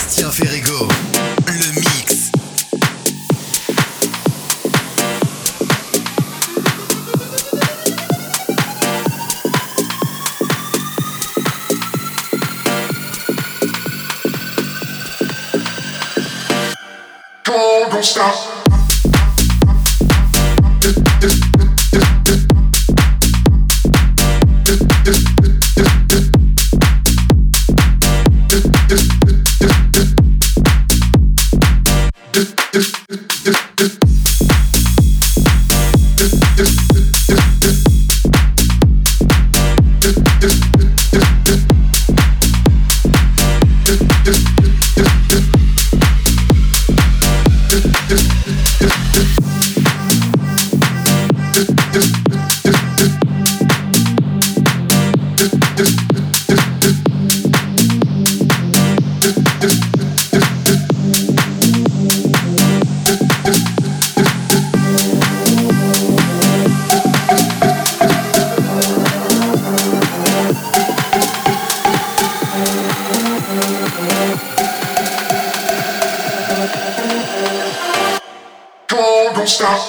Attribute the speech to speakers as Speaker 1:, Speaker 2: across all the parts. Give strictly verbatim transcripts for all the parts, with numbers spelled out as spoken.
Speaker 1: Sébastien Ferrego, le mix.
Speaker 2: Don't stop. Don't stop.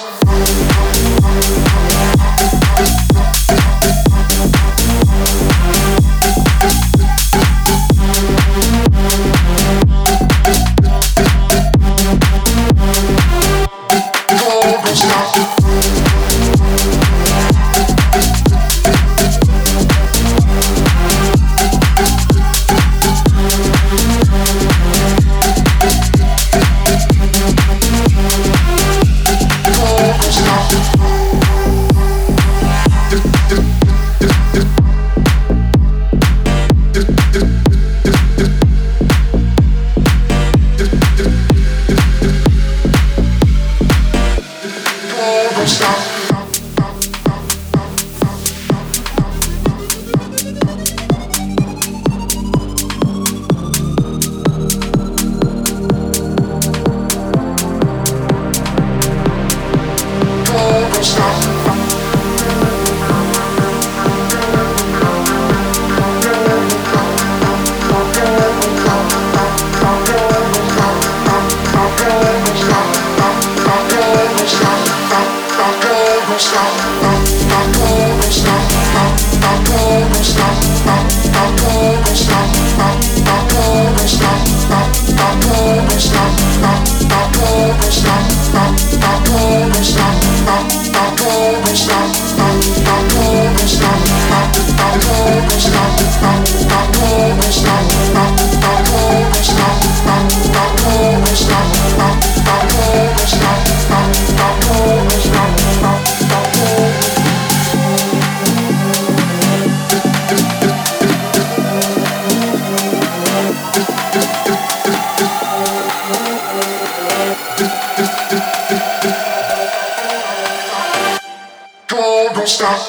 Speaker 2: Don't stop.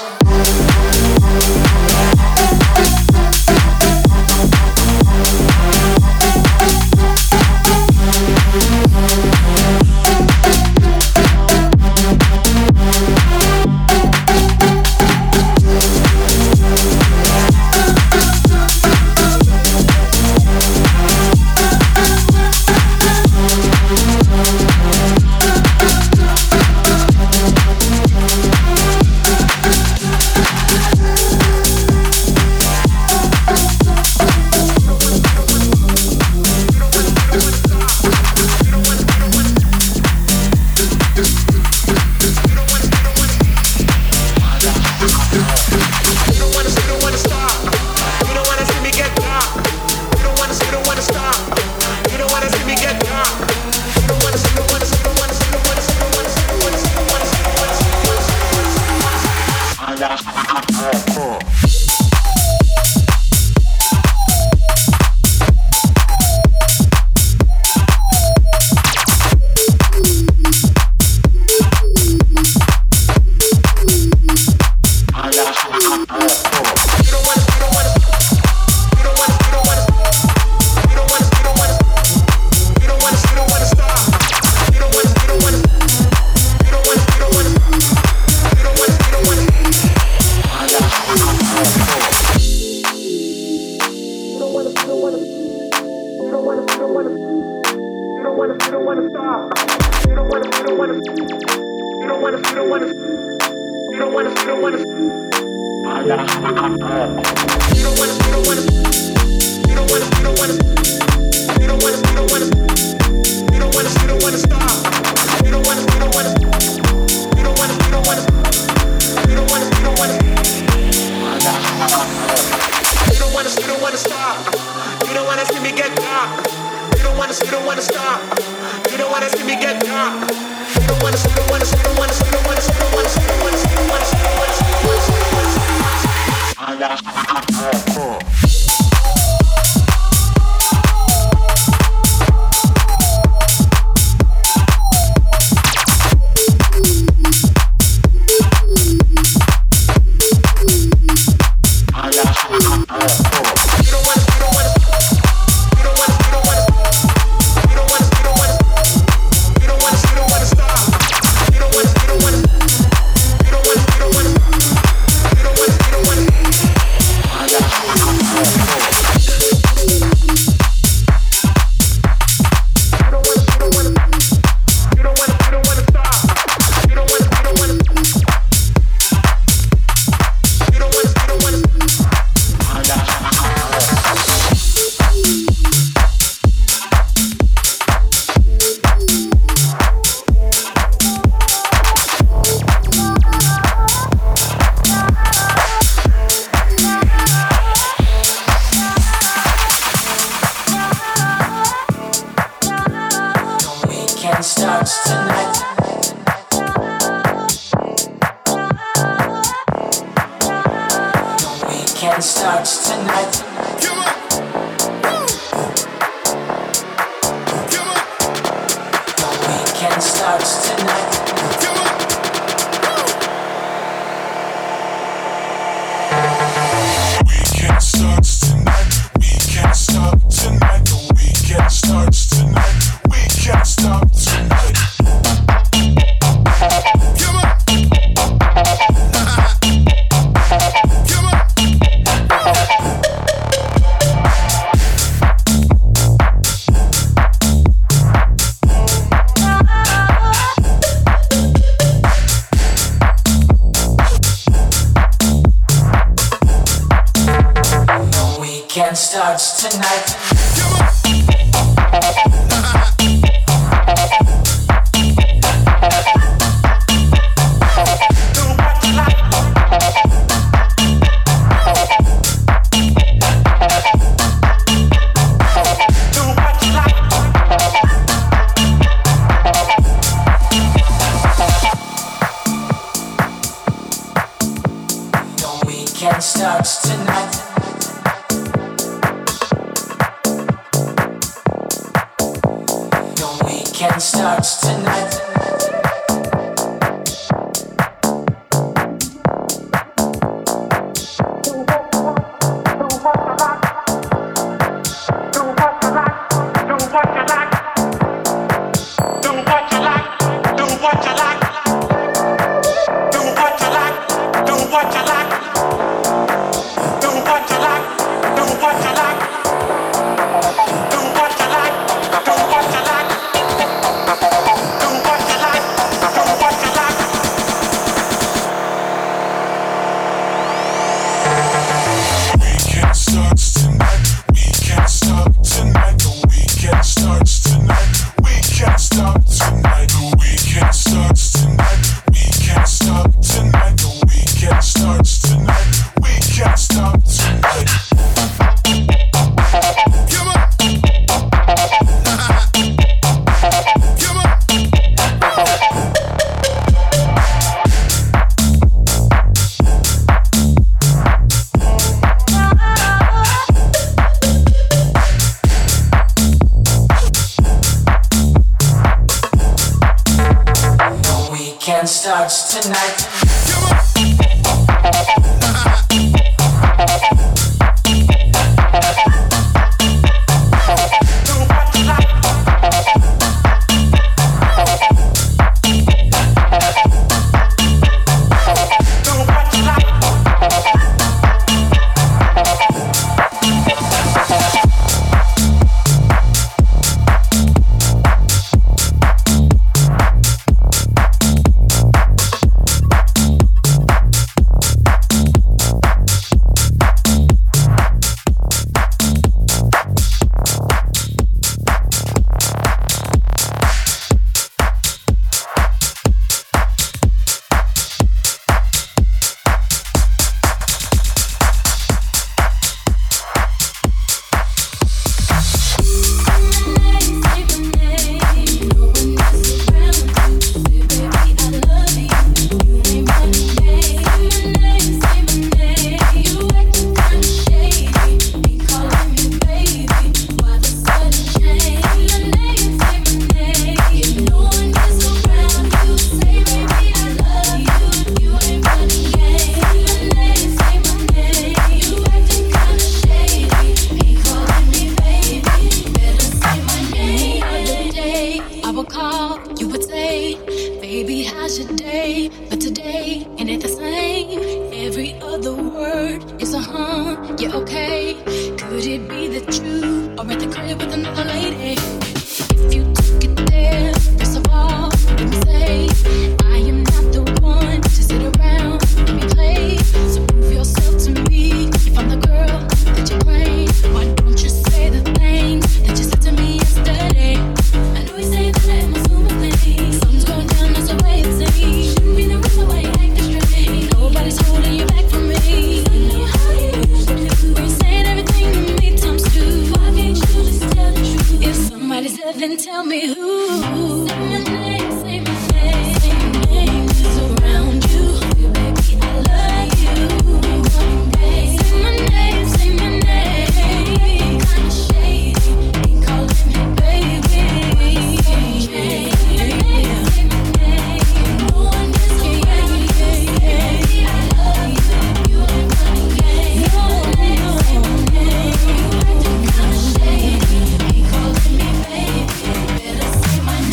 Speaker 3: Yeah, okay. Could it be that you are at the crib with another lady? If you took it there, first of all, let me say I am not the one to sit around and be played. So prove yourself to me. If I'm the girl that you claim, why don't you say the things that you said to me yesterday? I know you say that I'm assuming things. Something's going down, that's the way it seems. Shouldn't be the reason why you acting strange. Nobody's holding you back from me. I know how you usually do. When you're saying everything to me times two. Why can't you just tell the truth? If somebody said, then tell me who. Say my name, say my name, say my name. Just around you, baby, I love you. One day, say my name, say my name. Kinda shady, ain't calling me baby. Say my name, say my name. No one gets around you, baby, I love you. You ain't running game. No, no, say my name. You acting kinda shady, ain't calling me baby. Better say my name.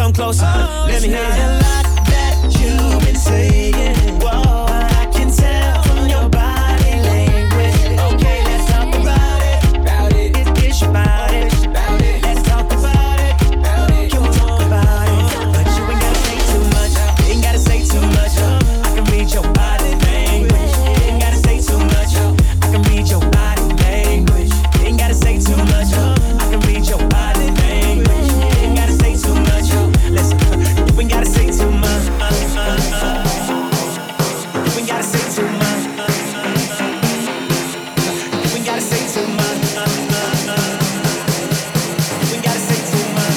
Speaker 4: come closer. Oh, let me hear it. A lot that you've been saying. Whoa, I can tell from your body language. Okay, let's talk about it. About it. It's, it's about it. About it. Let's talk about it. About it. You talk about it, but you ain't gotta say too much. You ain't gotta say too much. I can read your body language. You ain't gotta say too much. I can read your body language. You ain't gotta say too much. I can read your body language. You ain't gotta say too much. Listen, you ain't gotta say too much. You ain't gotta say too much. You ain't gotta say too much. You ain't gotta say too much.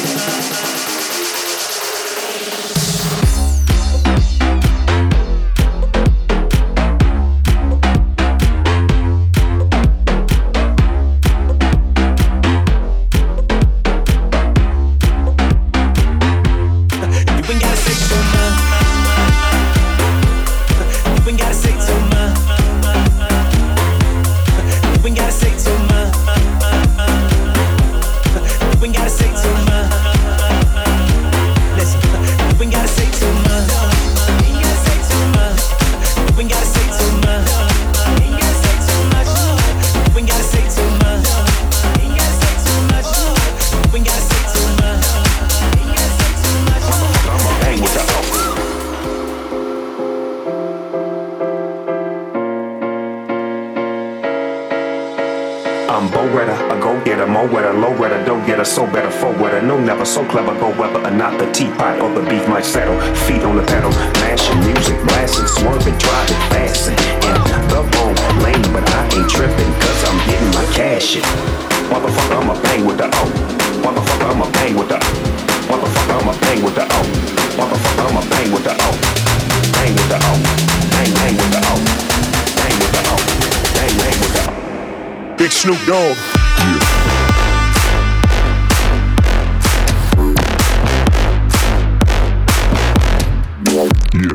Speaker 5: So better forward, no never so clever. Go whether or not the teapot or the beef might settle. Feet on the pedal, mashing music, blasting, swerving, driving, fasting in the wrong lane, but I ain't tripping, cause I'm getting my cash in. Motherfucker, I'ma bang with the O. Motherfucker, I'ma bang with the O. Motherfucker, I'ma bang with the O. Motherfucker, I'ma bang with the O. Bang with the O. Bang, bang with the O. Bang with the O. Bang, bang with the O. Big Snoop Dogg. Yeah. Yeah.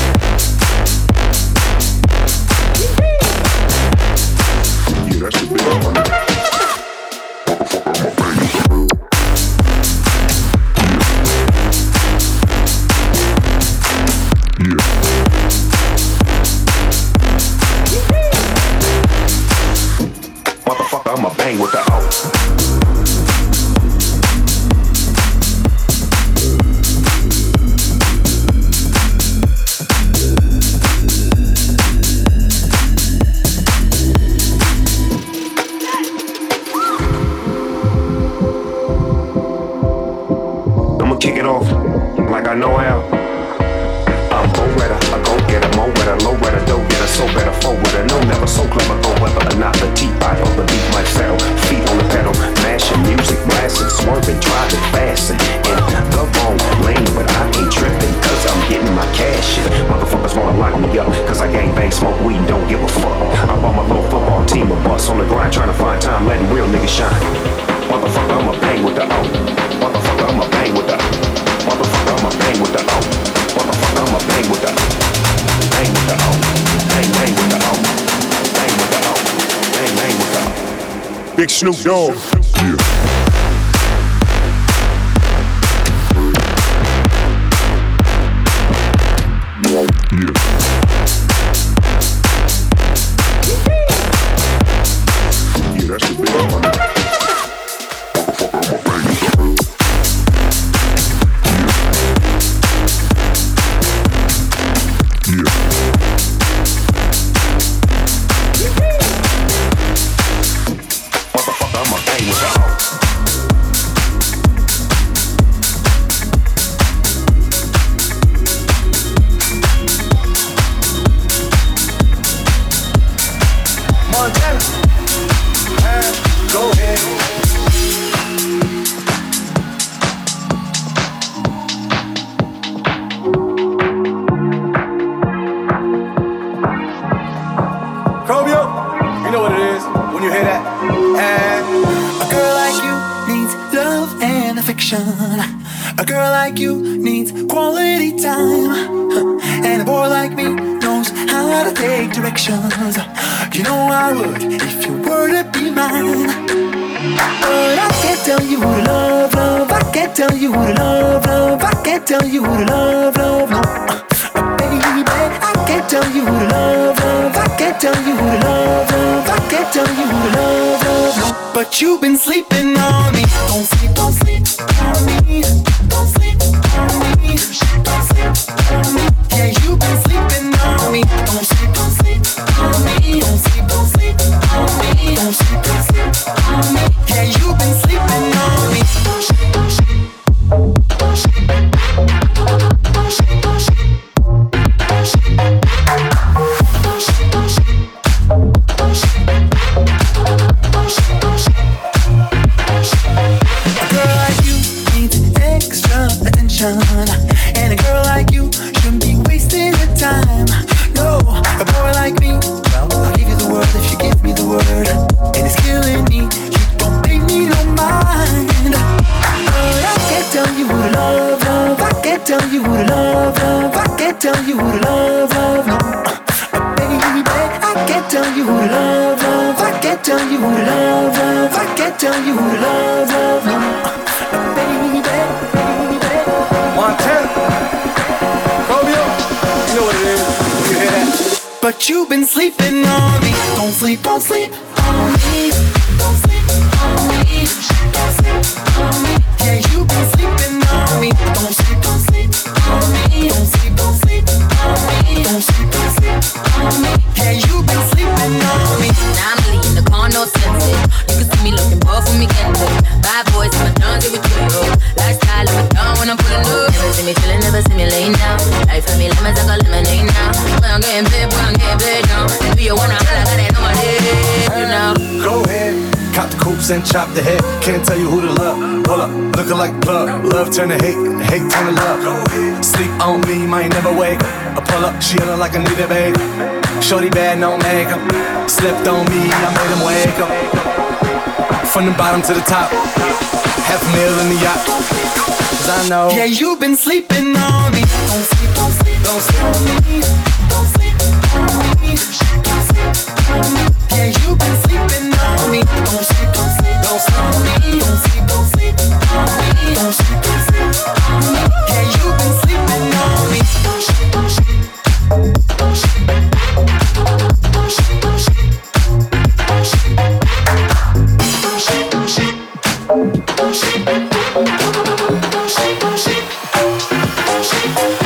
Speaker 5: Yeah, that's the big one. Motherfucker, I'ma bang with the O. Kick it off like I know how. I'm Bo-Retta, I go get a Mo-Retta, low-Retta, dough-getter, so better forward. No, never so clever, go whether or not the teapot or the beef might settle. Feet on the pedal, mashing music, blasting, swerving, driving, fasting in the wrong lane, but I ain't tripping, cause I'm getting my cash in. Motherfuckers wanna lock me up, cause I gang bang, smoke weed, don't give a fuck. I bought my little football team a bus on the grind, trying to find time, letting real niggas shine. Motherfucker, I'ma bang with the O. Motherfucker, I'ma bang with the O. Motherfucker, I'ma bang with the O. Motherfucker, I'ma bang with the O. Bang with the O. Bang, bang with the O. Bang with the O. Bang, bang with the O. Big Snoop Dogg. Yeah. Yeah. Yeah, that's the big one.
Speaker 6: A girl like you needs quality time, and a boy like me knows how to take directions. You know I would if you were to be mine. But I can't tell you who to love, love. I can't tell you who to love, love. I can't tell you who to love, love, no. Uh, baby, I can't tell you who to love, love. I can't tell you who to love, love. I can't tell you who to love, love, no. But you've been sleeping on me. Don't sleep, don't sleep on me. Don't sleep on me. Don't sleep on me. Yeah, you've been sleeping on me. Don't sleep, don't sleep on me. Don't sleep, don't sleep on me. Don't sleep, don't sleep on me. Yeah, you've been sleeping on me. Don't sleep, don't sleep. Don't sleep. Don't sleep, don't sleep. Don't sleep. Don't sleep, don't sleep. Don't sleep. Don't sleep, don't sleep. A girl like you needs extra attention, and a girl like you shouldn't be wasting your time. No, a boy like me, well, I'll give you the word if you give me the word, and it's killing me. You don't pay me no mind. But I can't tell you who to love, love. I can't tell you who to love, love. I can't tell you who to love, love, no. Uh, baby, I can't tell you who to love, love. I can't tell you who to love, love. I can't tell you who to love, love, no. Uh, baby, baby.
Speaker 7: Montana, Romeo, you know what it is. You hear that?
Speaker 6: But you've been sleeping on me. Don't sleep, don't sleep on me. Don't sleep on me. Don't sleep on me. Yeah, you've been sleeping on me. Don't sleep, don't sleep on me. Don't sleep, don't sleep on me. Don't sleep, don't sleep on me. Yeah, you've been sleeping on me.
Speaker 8: Now I'm really in the car, no sense. You can see me looking rough when we get there. Bad boys, my done with you. Lifestyle, I'm down when I'm pulling up. Never see me chillin', never see me laying down. Life for me, lemons like a lemonade now. Boy, I'm getting paid, boy, I'm getting paid now. Do you wanna holla, got that on my head, you know?
Speaker 7: Go ahead, cop the coops and chop the head. Can't tell you who to love. Pull up, looking like plug. Love turn to hate, hate turn to love. Sleep on me, might never wake. I pull up, she yellin' like I need a babe. Shorty bad, no makeup. Slipped on me, I made him wake up. From the bottom to the top, half a meal in the yacht. Cause I know.
Speaker 6: Yeah, you've been sleeping on me. Don't sleep, don't sleep, don't sleep on me. Don't sleep on me. Don't sleep on me. Yeah, you've been sleeping on me. Don't sleep, don't sleep, don't sleep on me. Don't sleep, don't sleep on me. Don't sleep, don't sleep on me. Yeah, you've been sleeping on me. Don't sleep, don't sleep. Don't sleep. Don't sleep, don't sleep. Don't sleep. Don't sleep, don't sleep. Don't sleep. Don't sleep, don't sleep. Don't sleep.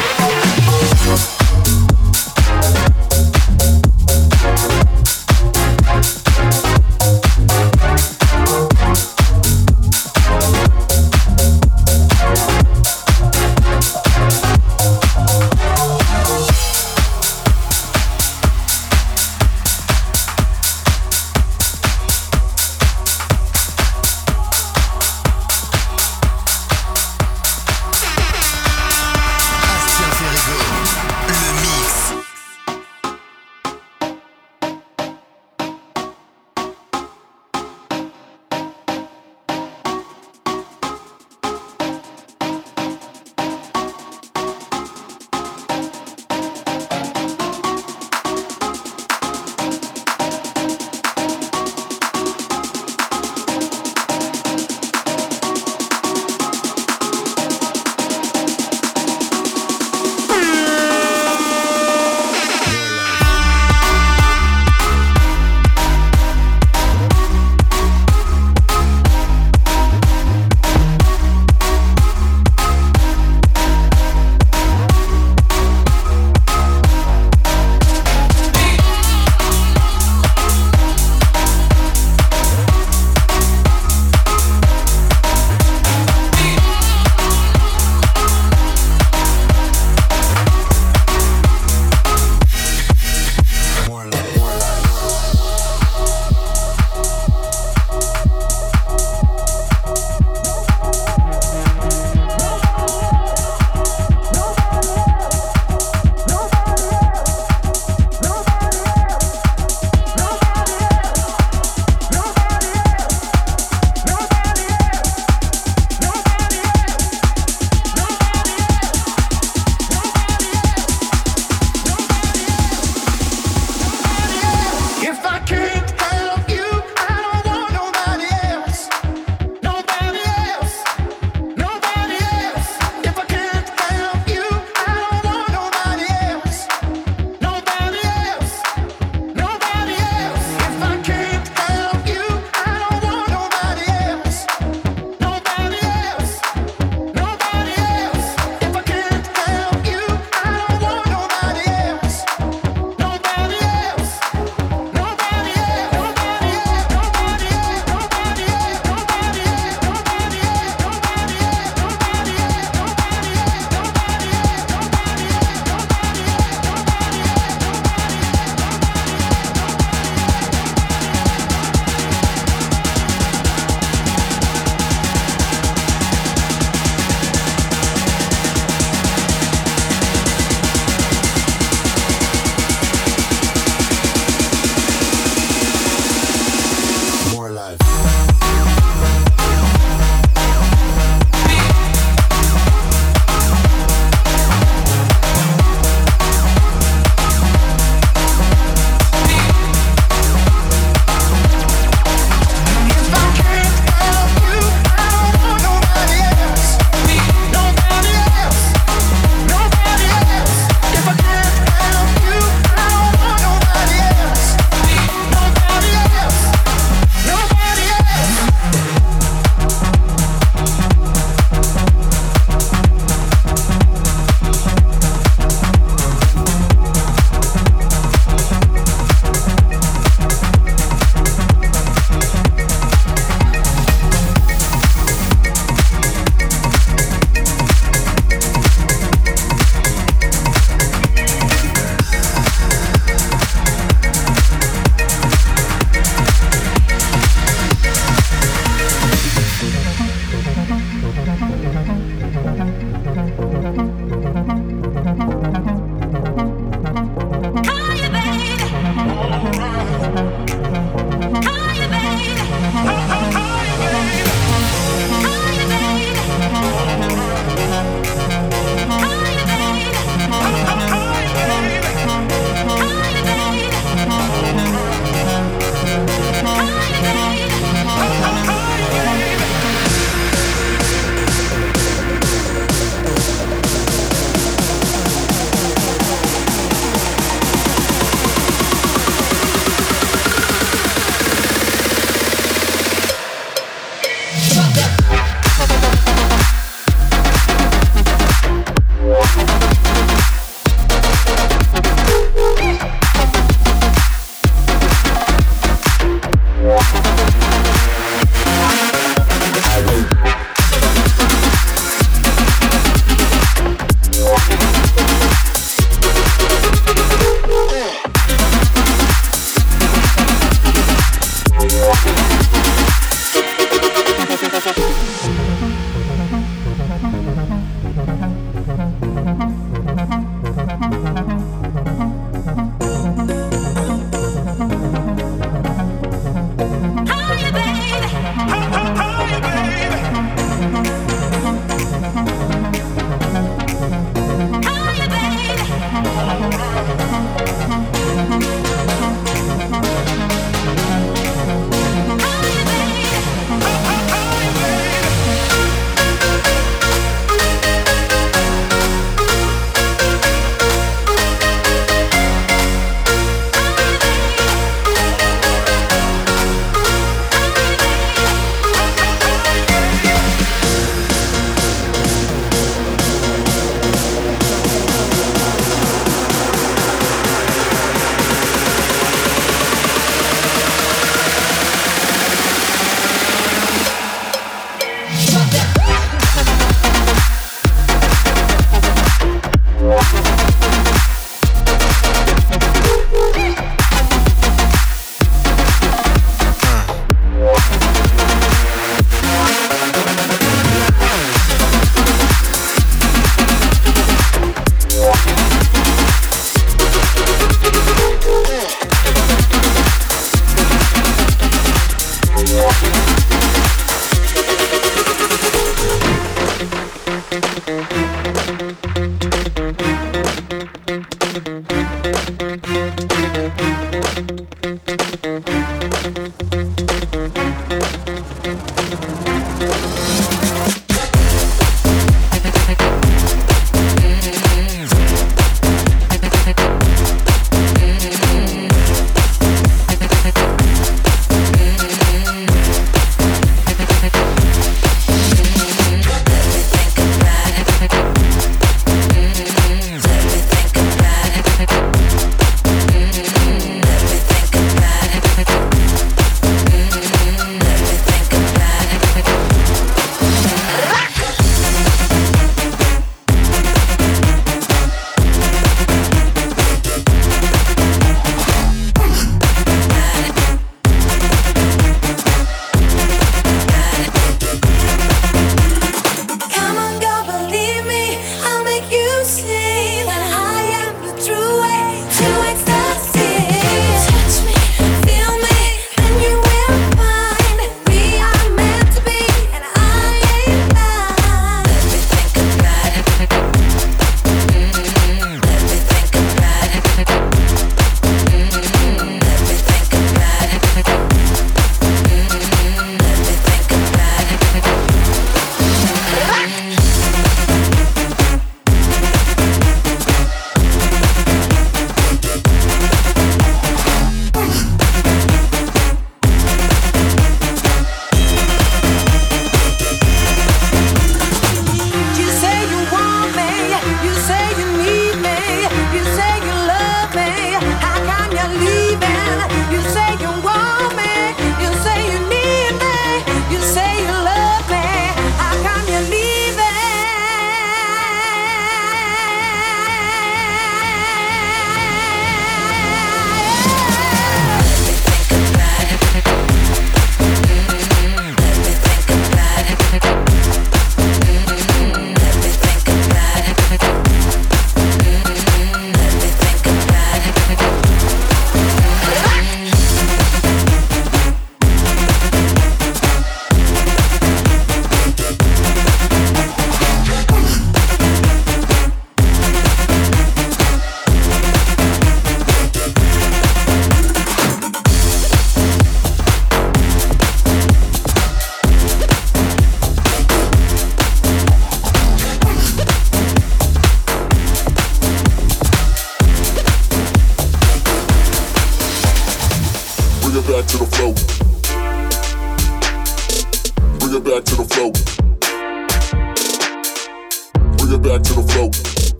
Speaker 9: it back to the flow.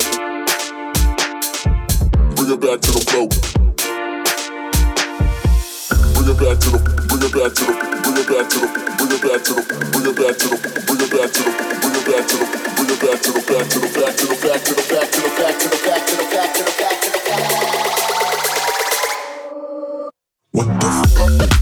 Speaker 9: Bring it back to the flow. Bring it back to the, bring it back to the, bring it back to the, bring it back to the, bring it back to the, bring it back to the, bring it back to the, bring it back to the, back to the, back to the, back to the, back to the, back to the, back to the, back to the, back to the, back to the. What the fuck?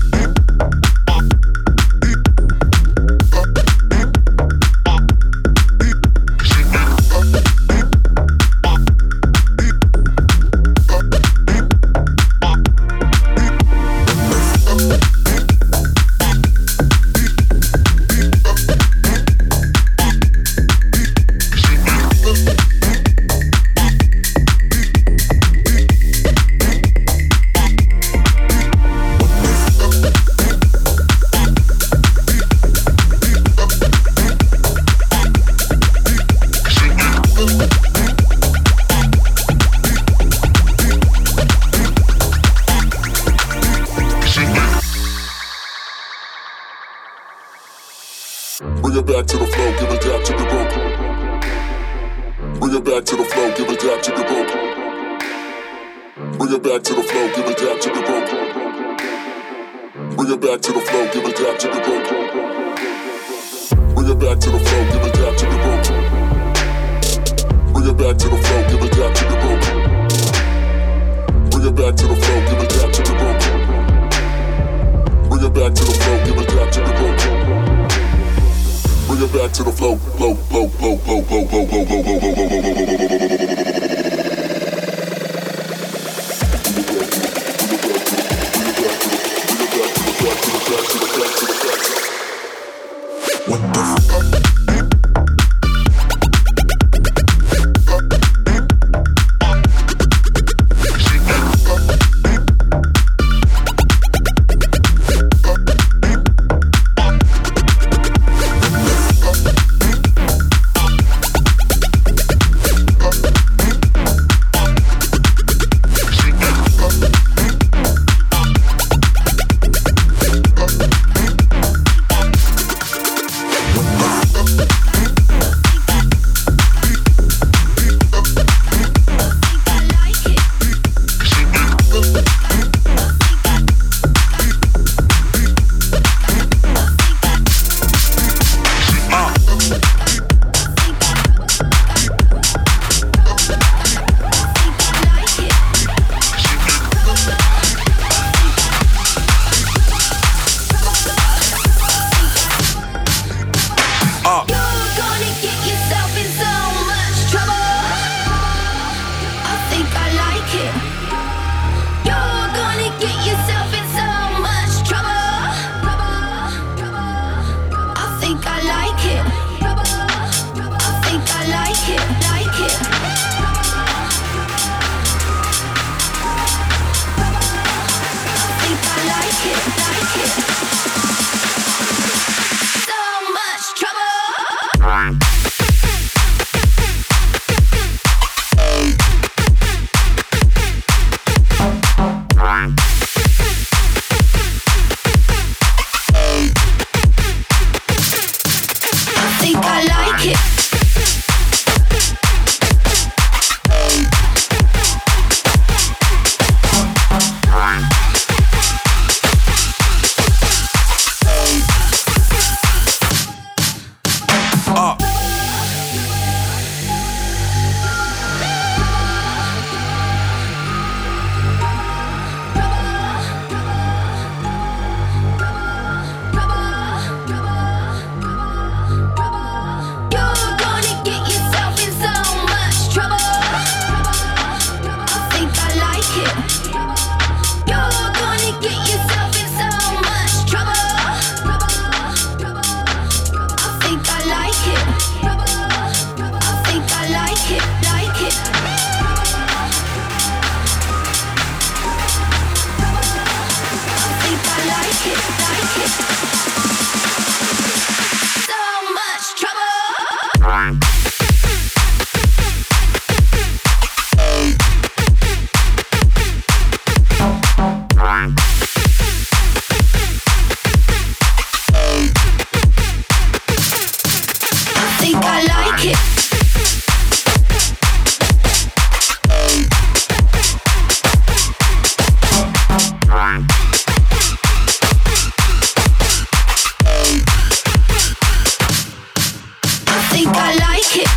Speaker 3: think I like it. think I like it.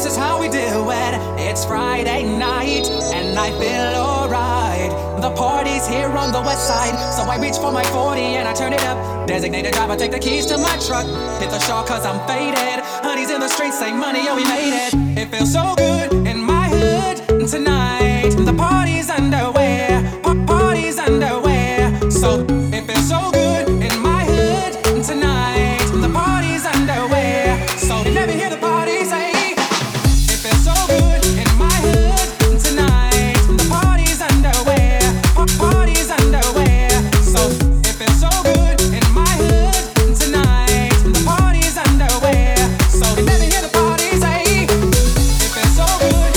Speaker 10: this is how we do it. It's Friday night, and I feel alright. The party's here on the west side, so I reach for my forty and I turn it up. Designated driver, take the keys to my truck. Hit the shore cause I'm faded. Honey's in the streets, say money, oh we made it. It feels so good in my hood tonight. The party's underway, pa- party's underway. So it feels so good in my hood tonight. The party's underway, so let me hear the party say. It feels so good in my hood tonight. The party's underway, pa- party's underway. So it feels so good in my hood tonight. The party's underway, so let me hear the party say. It feels so good.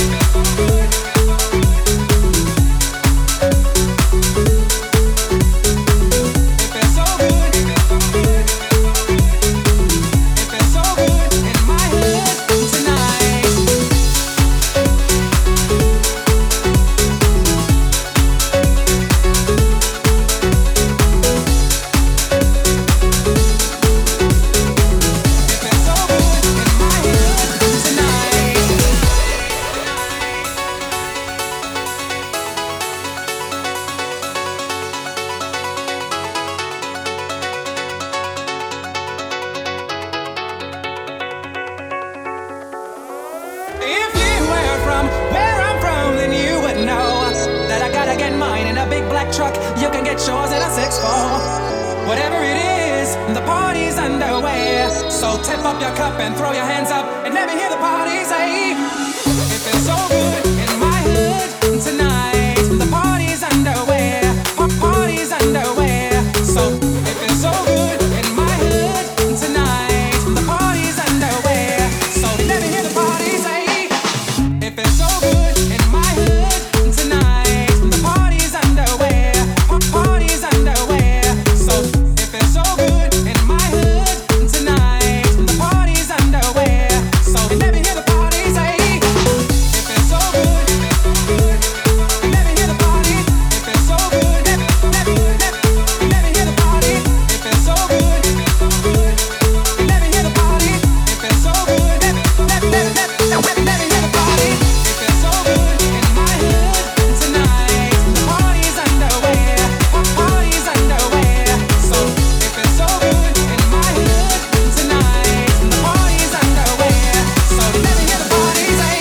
Speaker 10: If you were from where I'm from, then you would know that I gotta get mine in a big black truck. You can get yours in a six four. Whatever it is, the party's underway. So tip up your cup and throw your hands up and let me hear the party say. It feels so good in my hood tonight. The party's underway. Pa- Party's underway. So it feels so good in my hood tonight. The party's underway. So let me hear the party say. It feels so good in my hood tonight. The party's underway. Pa- Party's underway. So it feels so good in my hood tonight. The party's underway. So let me hear the party say. It feels so good. Let me hear the party. It feels so good. Let me, let me, let me, let me hear the party. It feels so good. Let me hear the party. It feels so good. Let me, let me, let me, let me, let me, let me hear the party. It feels so good in my hood tonight. The party's underway. Pa- Party's underway. So it feels so good in my hood tonight. The party's underway. So let me hear the party say.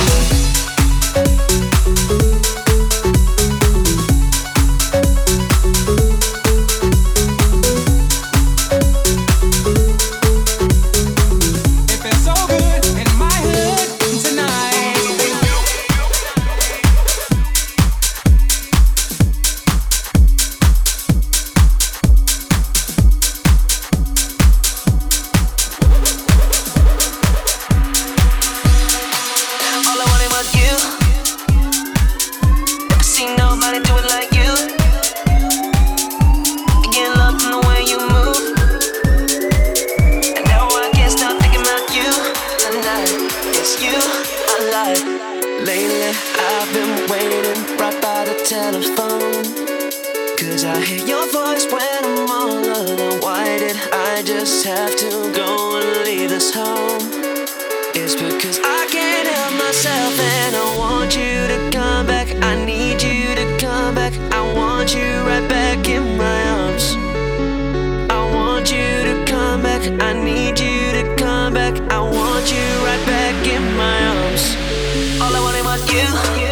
Speaker 10: It feels so good in my hood tonight.
Speaker 4: All I wanted was you. Never seen nobody do it like you. I get love from the way you move, and now I can't stop thinking about you. Tonight, it's you I like. Lately, I've been waiting right by the telephone, 'cause I hear your voice when I'm all alone. Why did I just have to go and leave this home? It's because I can't help myself and I want you to come back. I need you to come back. I want you right back in my arms. I want you to come back. I need you to come back. I want you right back in my arms. All I wanted was you.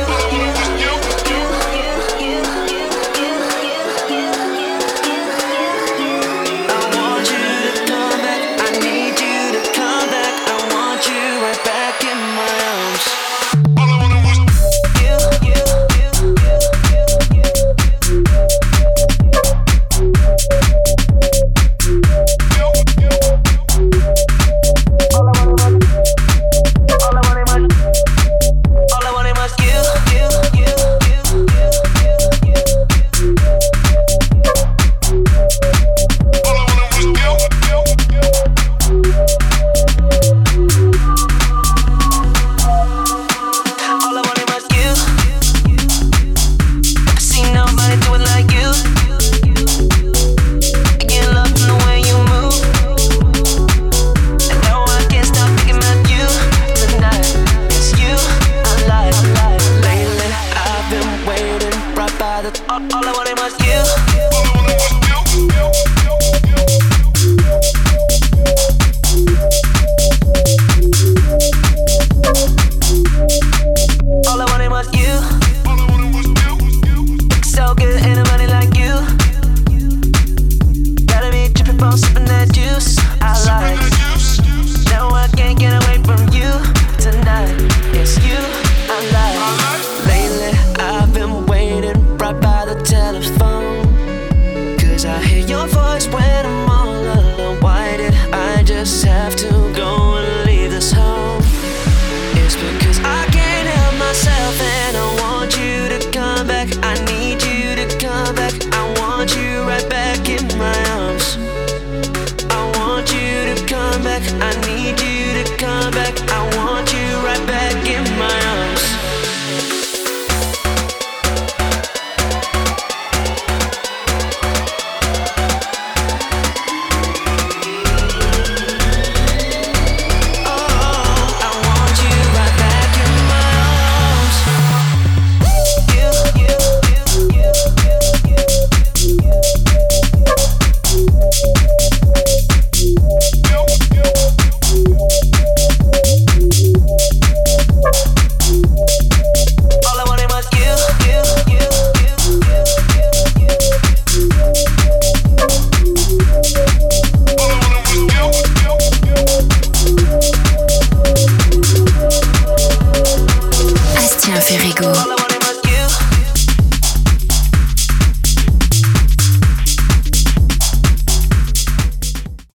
Speaker 4: I want you to come back. I need you to come back. I want you right back in my arms. All I wanted was you, you, you, you, you, you. on sipping that juice I like. No, I can't get away from you tonight. It's you I like. Lately, I've been waiting right by the telephone, cause I hear your voice when I'm all alone. Why did I just have to go and leave this home? It's because I can't help myself and I want you to come back. I need you to come back. I want you right back in my arms. I want you to come back. I need you to come back.